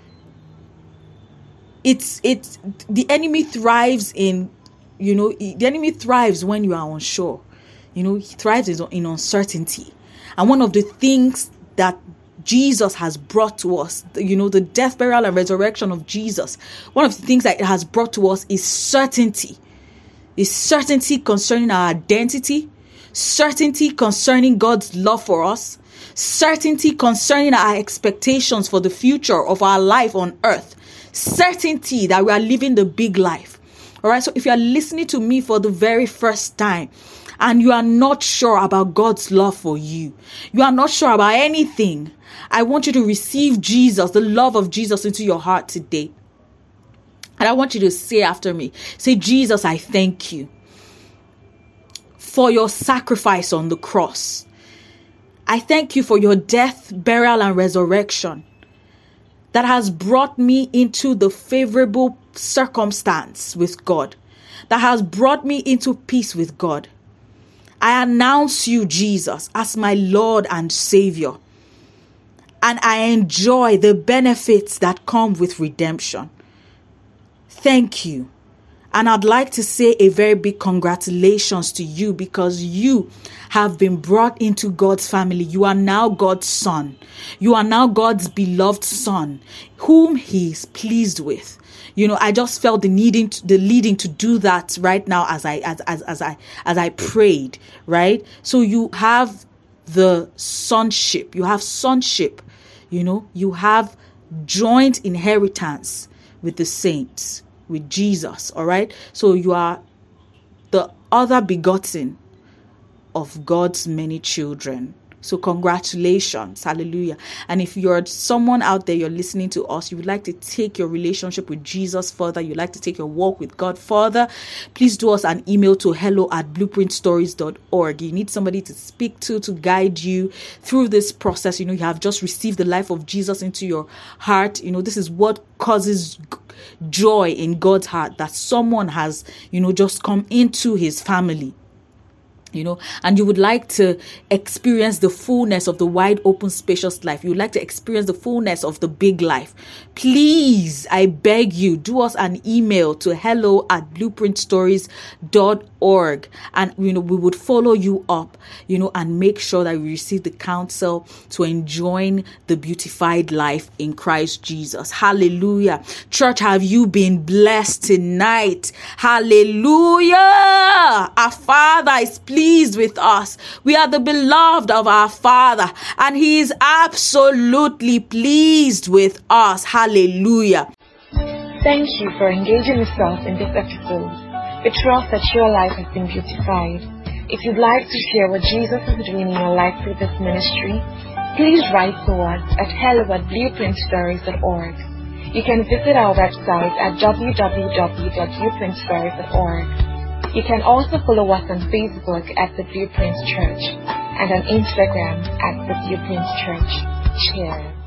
it's, it's, the enemy thrives in, you know, the enemy thrives when you are unsure. You know, he thrives in uncertainty. And one of the things that Jesus has brought to us, you know, the death, burial, and resurrection of Jesus, one of the things that it has brought to us is certainty. Is certainty concerning our identity, certainty concerning God's love for us, certainty concerning our expectations for the future of our life on earth, certainty that we are living the big life. All right. So if you are listening to me for the very first time and you are not sure about God's love for you, you are not sure about anything, I want you to receive Jesus, the love of Jesus, into your heart today. And I want you to say after me, say, Jesus, I thank you for your sacrifice on the cross. I thank you for your death, burial, and resurrection that has brought me into the favorable circumstance with God, that has brought me into peace with God. I announce you, Jesus, as my Lord and Savior, and I enjoy the benefits that come with redemption. Thank you. And I'd like to say a very big congratulations to you, because you have been brought into God's family. You are now God's son. You are now God's beloved son, whom he is pleased with. You know, I just felt the needing, to, the leading to do that right now as I, as, as, as I, as I prayed, right? So you have the sonship, you have sonship, you know, you have joint inheritance with the saints, with Jesus. All right. So you are the other begotten of God's many children. So congratulations. Hallelujah. And if you're someone out there, you're listening to us, you would like to take your relationship with Jesus further, you'd like to take your walk with God further, please do us an email to hello at blueprint stories dot org. You need somebody to speak to, to guide you through this process. You know, you have just received the life of Jesus into your heart. You know, this is what causes joy in God's heart, that someone has, you know, just come into his family. you know, and you would like to experience the fullness of the wide open spacious life, you would like to experience the fullness of the big life, please, I beg you, do us an email to hello at blueprint stories dot org, and you know, we would follow you up, you know, and make sure that we receive the counsel to enjoying the beautified life in Christ Jesus. Hallelujah. Church, have you been blessed tonight? Hallelujah. Our Father is pleased with us. We are the beloved of our Father, and He is absolutely pleased with us. Hallelujah. Thank you for engaging yourself in this episode. We trust that your life has been beautified. If you'd like to share what Jesus is doing in your life through this ministry, please write to us at hello at blueprint stories dot org. You can visit our website at w w w dot blueprint stories dot org. You can also follow us on Facebook at The Blueprint Church and on Instagram at The Blueprint Church. Cheers.